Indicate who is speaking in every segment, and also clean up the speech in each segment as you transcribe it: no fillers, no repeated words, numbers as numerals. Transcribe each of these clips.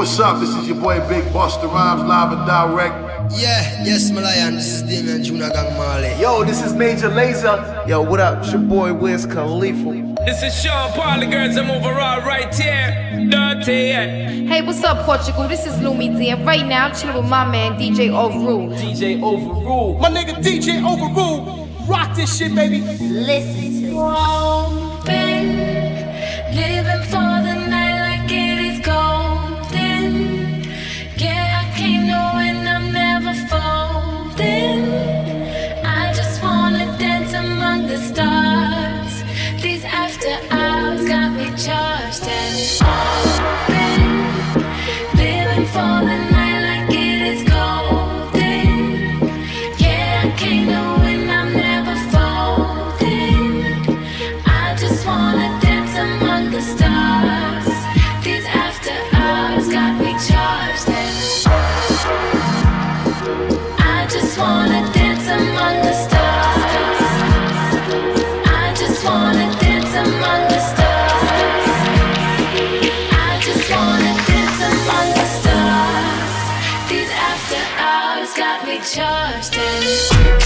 Speaker 1: what's up? This is your boy Big Busta Rhymes, live and direct.
Speaker 2: Yeah, yes, Malayan. This is Damian Juna Gang Marley.
Speaker 3: Yo, this is Major Lazer. Yo, what up? It's your boy Wiz Khalifa.
Speaker 4: This is Sean Paul, the girls I'm overall right here. Dirty, yeah.
Speaker 5: Hey, what's up, Portugal? This is Lumi D, and right now I'm chilling with my man DJ Overrule.
Speaker 3: DJ Overrule.
Speaker 6: My nigga DJ Overrule. Rock this shit, baby.
Speaker 5: Listen to
Speaker 7: Hoping, living for the night like it is golden. Yeah, I keep knowing I'm never folding. I just wanna dance among the stars. These after hours got me charged and open. Living for the night like it is golden. Yeah, I can't know when I'm never folding. I just wanna dance among the stars. These after hours got me charged and I just wanna dance among the stars. I just wanna dance among the stars. I just wanna dance among the stars. These after hours got me charged and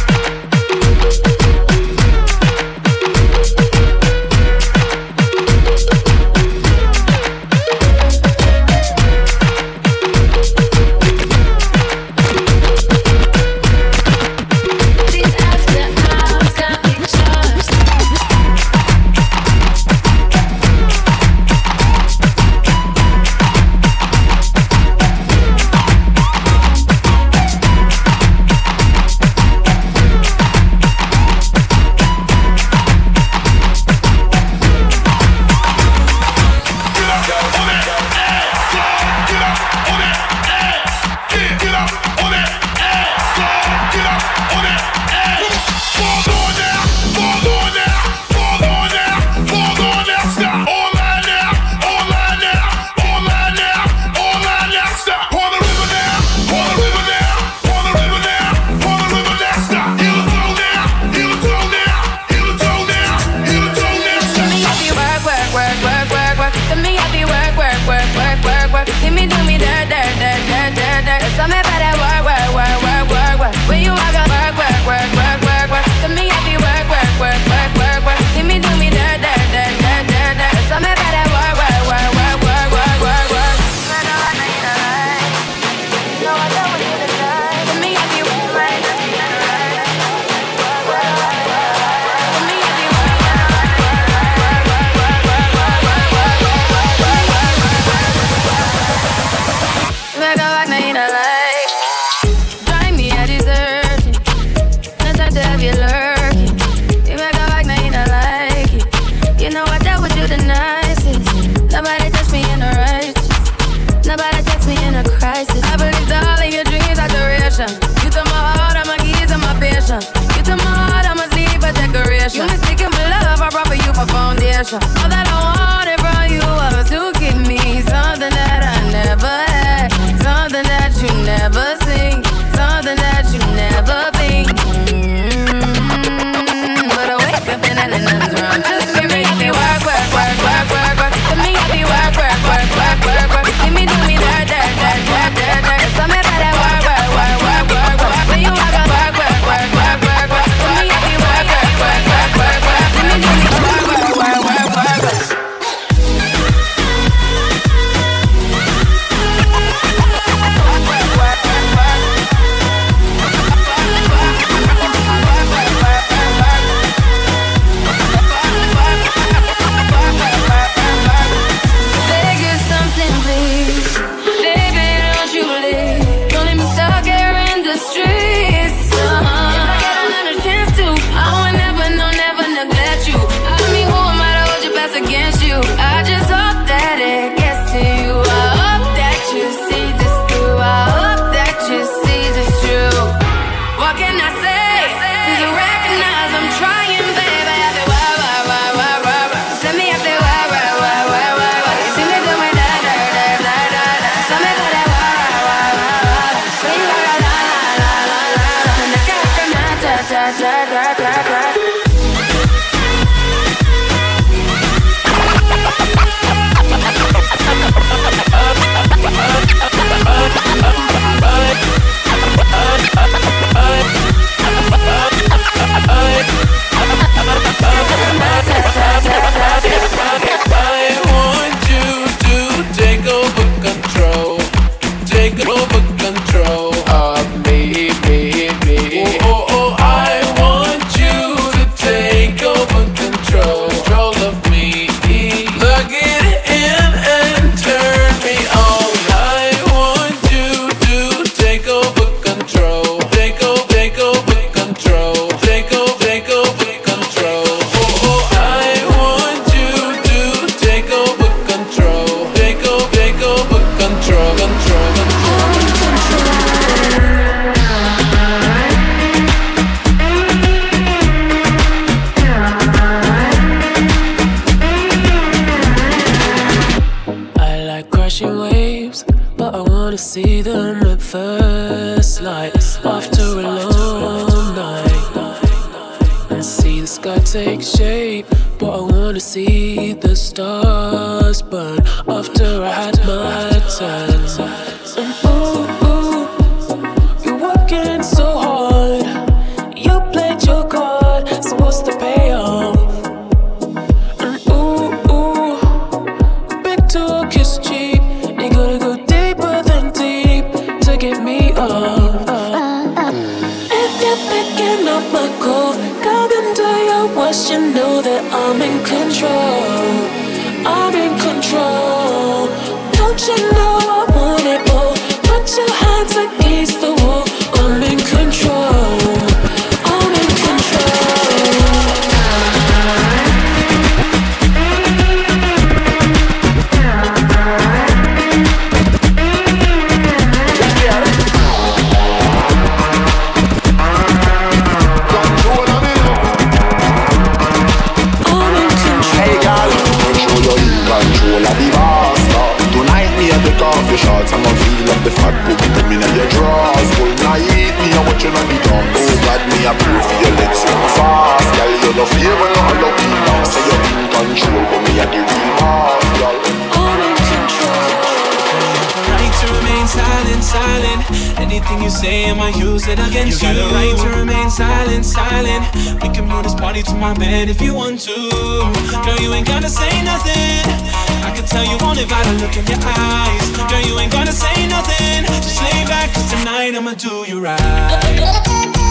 Speaker 7: all that I wanted from you was to give me something that I never had, something that you never seen, something that you never been. But I wake up and nothing's wrong. Just for me, I be work. For me, I be work. See me do me that. So me better work. When you walk on work. For me, I be work. See me do me work.
Speaker 8: take shape, but I wanna see the stars burn after I had my time. Ooh, ooh, you're working so hard. You played your card, so what's the payoff? Ooh, ooh, big talk is cheap. You gotta go deeper than deep to get me off. If you're picking up my call, come into your wash, you know that I'm in control. I'm in control. Don't you know I want it all? Put your hands against the wall. I'm in control. I'm in
Speaker 9: the shots, I'ma feel up the fat book. Put me in your drawers, full night. Me, I watch you on the dawn. Oh God, me, I pray for your legs so fast. Girl, you no fear when I'm lucky now. Say you're in control, but me, I the real boss, girl.
Speaker 8: I'm in control.
Speaker 10: Right to remain silent, silent. Anything you say, I'ma use it against you. You got the right to remain silent, silent. We can move this party to my bed if you want to. Girl, you ain't gotta say nothing. I can tell you want it by the look in your eyes. Girl, you ain't gonna say nothing. Just lay back, cause tonight I'ma do you right.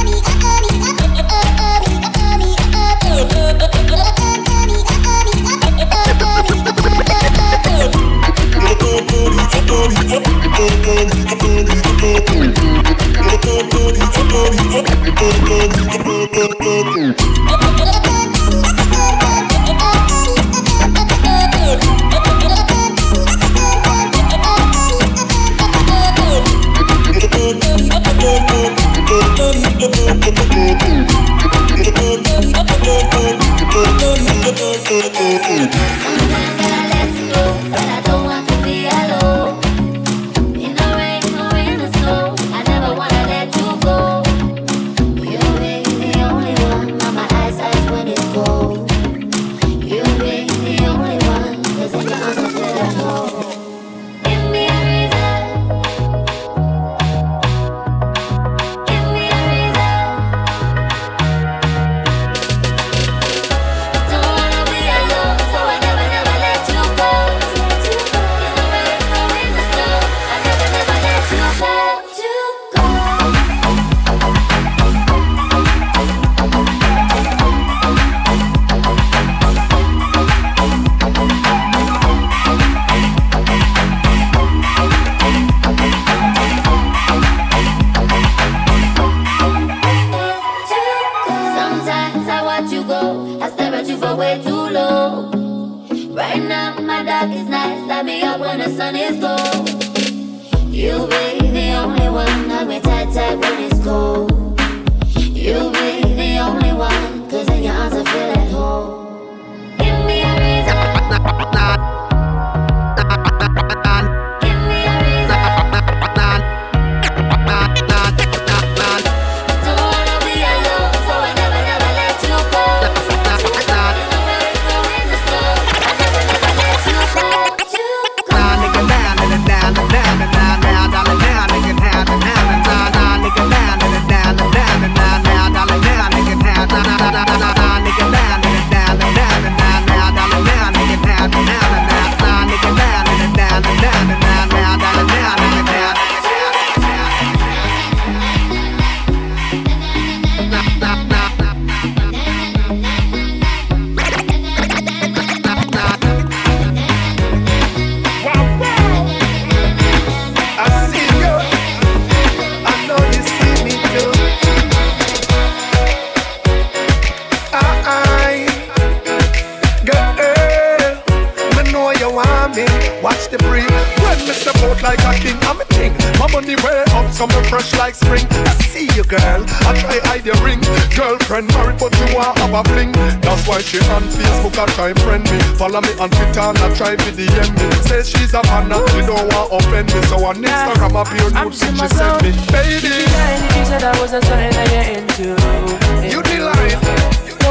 Speaker 11: She on Facebook and try friend me. Follow me on Twitter and I try to DM me. Says she's a fan and she don't want to offend me. So on Instagram I feel nude since she sent me. Baby,
Speaker 8: you said I wasn't something that you're into.
Speaker 11: You the line.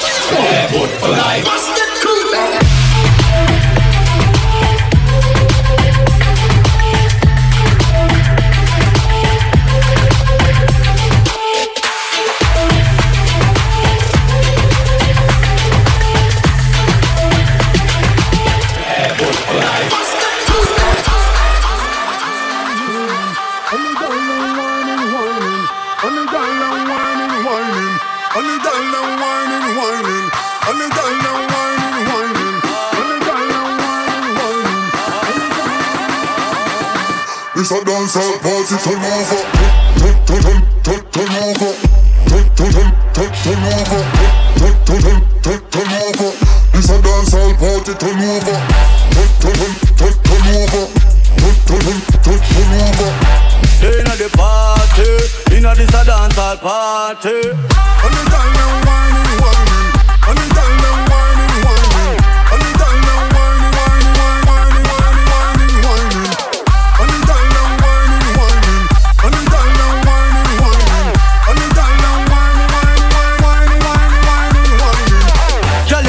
Speaker 12: Good for life.
Speaker 9: It's a dancehall party, turn over. Turn over. Turn over. Turn over. It's a dancehall party, turn over. Turn over. Turn over.
Speaker 13: Inna the party, inna this a dancehall party.
Speaker 9: And the girl now whining, whining. And the girl now whining, whining. And the girl now whining, whining, whining, whining, whining, whining. And the girl now whining, whining. And the girl now whining, whining. And the girl now whining, whining, whining, whining, whining, whining.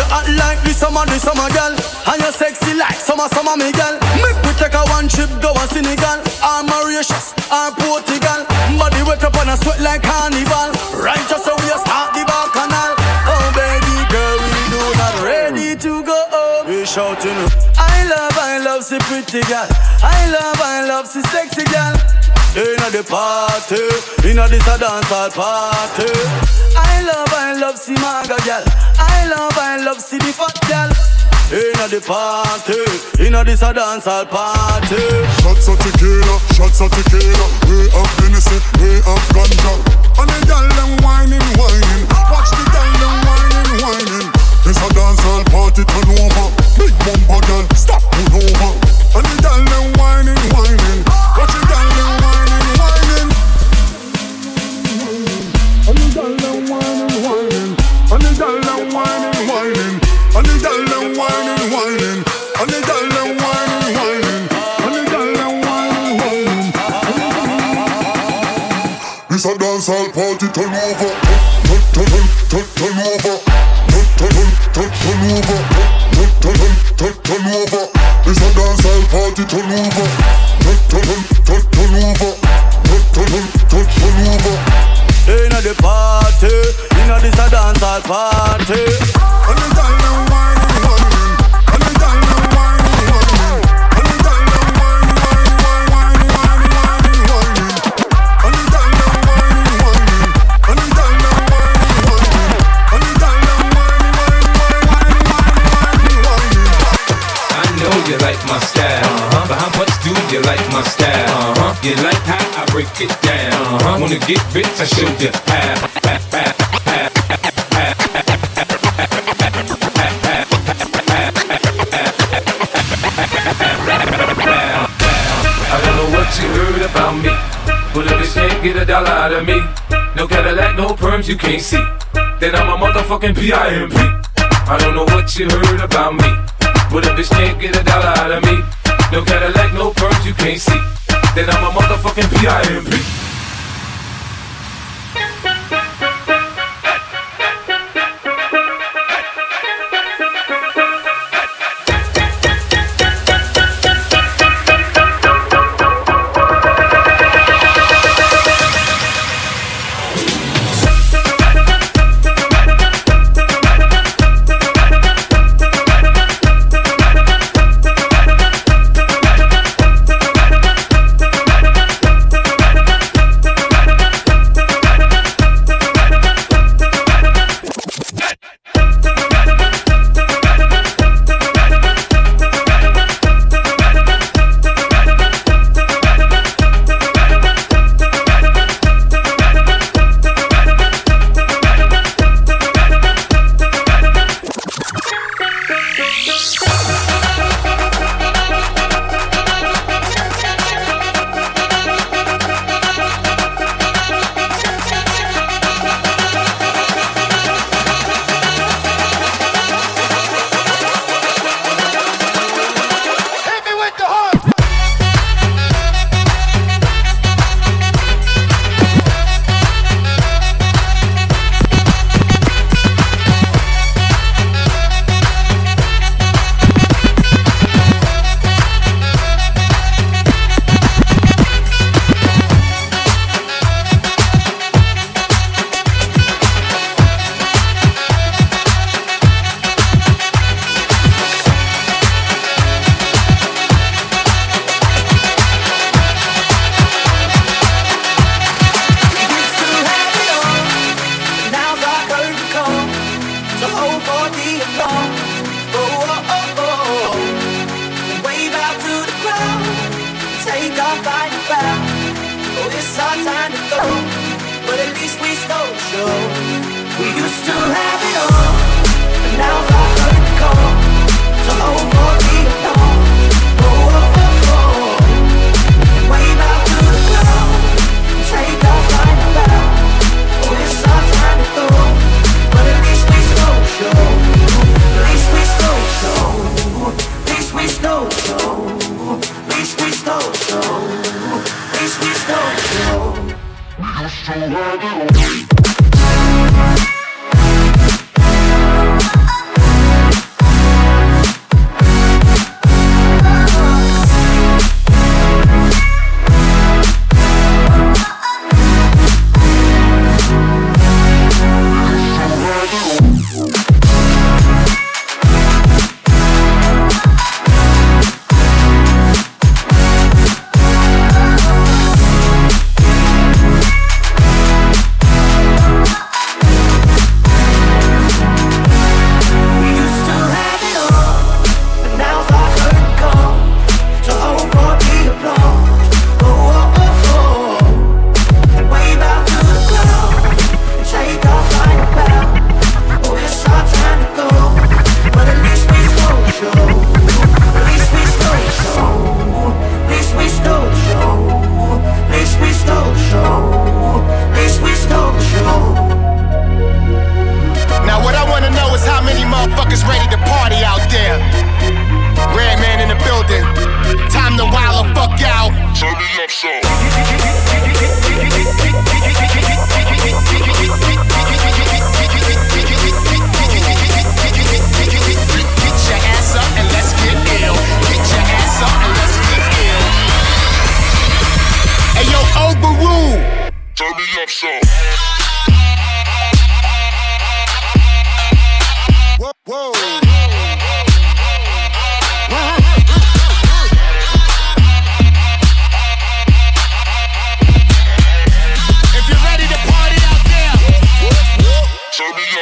Speaker 13: summer, me girl. Make we take a one trip, go to Senegal or Mauritius or Portugal. Body wet up and a sweat like carnival. Right just so we start the bacchanal. Oh baby girl, we do not ready to go home. We shouting, I love, see pretty girl. I love, see sexy girl. Inna the party, inna this a dancehall party. I love, see maga girl. I love, see the fat girl. Inna the party, inna this a dancehall party.
Speaker 11: Shots of tequila, way of Hennessy, way of ganja. And the girl them whining. Watch the girl them whining. This a dancehall party, turn over. Big bumper girl, stop, pull over. And the girl them whining. Watch the girl them whining. And the girl them whining. And the girl them whining. And the girl them whining. And the girl them whining. And the girl them whining. This a dancehall party, turn over. Turn over. Turn over. This a dancehall party, turn over. Turn over.
Speaker 13: Inna the party, inna this a dancehall party.
Speaker 11: And the girl them whining. And the girl them whining. And the girl them whining. And the girl them whining. And the girl them whining. And the girl them
Speaker 4: I know you like my style, but how much do you like my style? You like how I break it down. Wanna get rich, I show you how. I don't know what you heard about me, but if you can't get $1 out of me, no Cadillac, no perms, you can't see. Then I'm a motherfucking PIMP. I don't know what you heard about me, but if you can't get $1 out of me, no Cadillac, no perms, you can't see. Then I'm a motherfucking PIMP.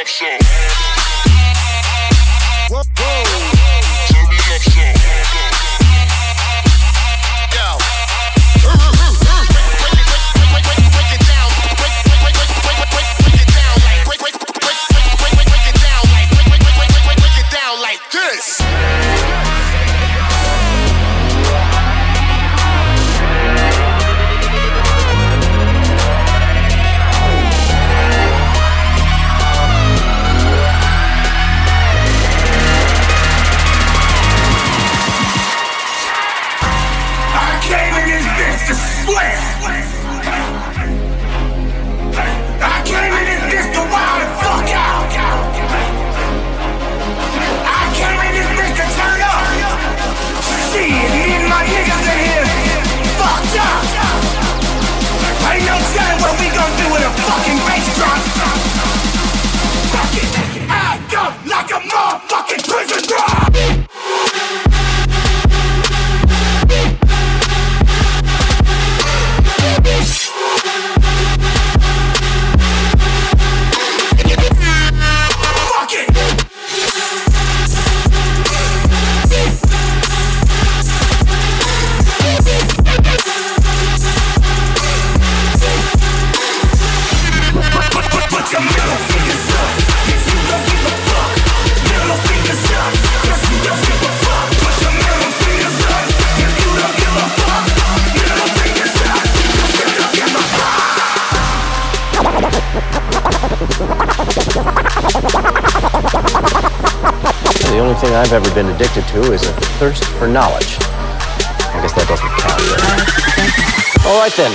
Speaker 9: up some. Whoa, whoa. Turn me up some. Yo. Break it down. Break it down like this.
Speaker 14: The only thing I've ever been addicted to is a thirst for knowledge. I guess that doesn't count. All right then.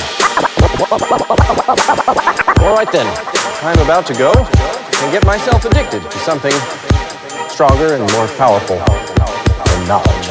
Speaker 14: All right then. I'm about to go and get myself addicted to something stronger and more powerful than knowledge.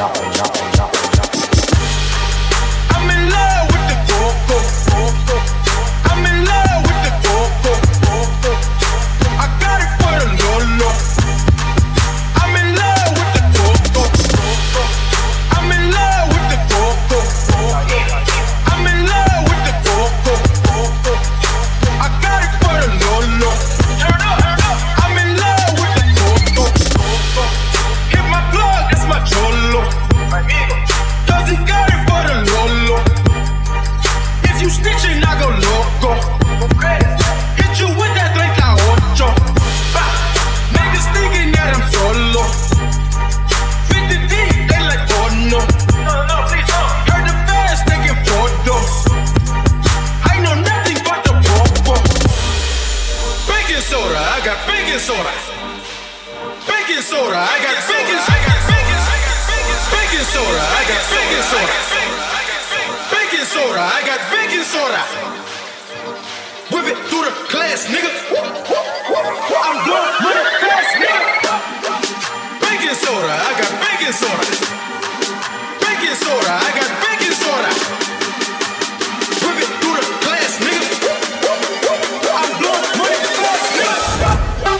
Speaker 15: I'm in love with the coco. I'm in love with the coco. I got it for the Lolo. I'm in love with the coco. I'm in love with the coco. I'm in love with the coco. I got it for the Lolo. I'm in love with the coco. Hit my plug, that's my cholo. Cause he got it for the Lolo. If you snitching, I go loco. Hit you with that 38. Niggas thinking that I'm solo. 50 deep, they like, oh no. Heard the fans taking photos. I know nothing but the popo. Baking soda, I got baking soda. Baking soda, I got baking soda. Baking soda, I got baking soda. Baking soda, I got baking soda. Whip it through the glass, nigga. I'm blowing money fast, nigga. Baking soda, I got baking soda. Baking soda, I got baking soda. Whip it through the glass, nigga. I'm blowing money fast, nigga.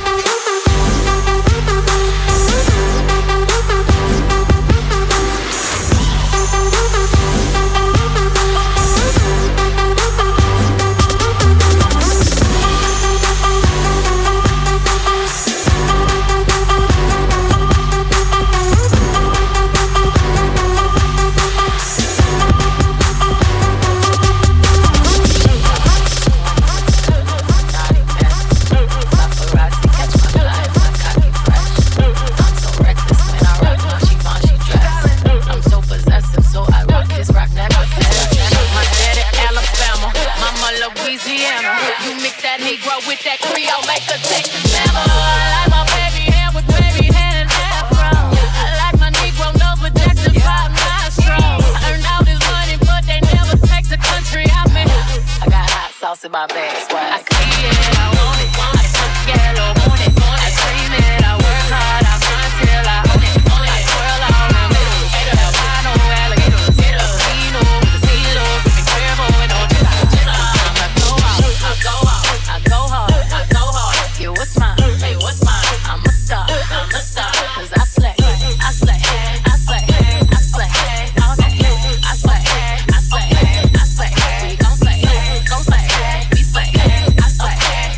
Speaker 7: My bag swag. I see it, I want it. I suck yellow, want it. I dream it, I work hard, I grind till I own it. I twirl all them middles. Albino alligators. Casino with the steelos. Sipping Cuervo and OJ. I go out, I go out, I go hard, I go hard. Yeah, what's mine? Hey, what's mine? I'm a star, cause I slay, I slay, I slay, I slay, all day. I slay, I slay, I slay. We gon' slay, gon' slay. I slay,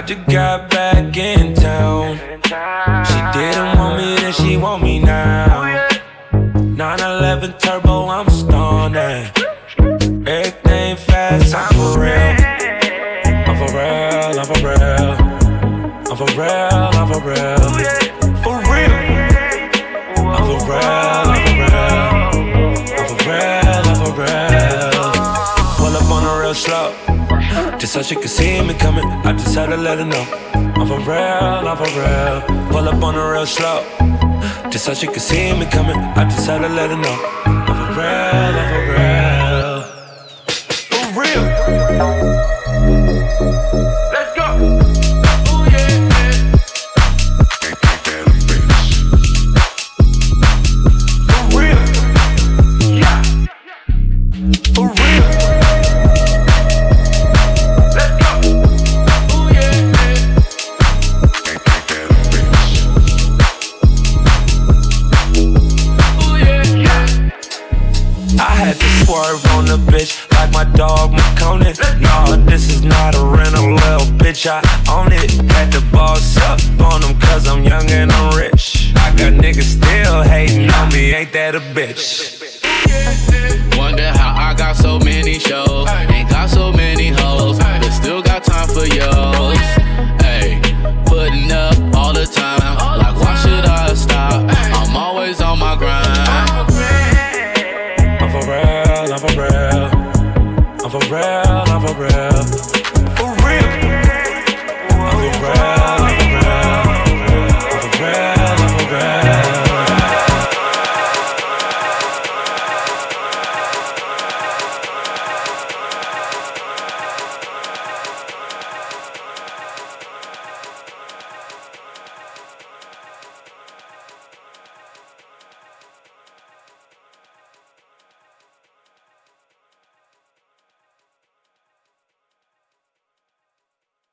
Speaker 10: just got back in town. She didn't want me, then she want me now. 911 turbo, I'm stoned. Everything fast, I'm for real. I'm for real, I'm for real. I'm for real, I'm for real. For real. I'm for real, I'm for real. I'm for real, I'm for real. Pull up on the real slow, just so she could see me coming. I just had to let her know. I'm for real, I'm for real. Pull up on the real slow, just so she could see me coming. I just had to let her know. I'm for real, I'm for real. For real. Let's go. Ooh, yeah, yeah. For real. Yeah. For real. Let's go. Ooh, yeah, yeah. Ooh, yeah, yeah. I had to swerve on the bitch like my dog McConan. Nah, this is not a rental, little bitch, I own it. Had to boss up on them cause I'm young and I'm rich. I got niggas still hating on me, ain't that a bitch?
Speaker 16: Wonder how I got so many shows, ain't got so many hoes, but still got time for yours. Hey, putting up all the time, like why should I stop? I'm always on my grind.
Speaker 10: I'm for real, I'm for real. I'm for real, I'm for real. For real. I'm for real.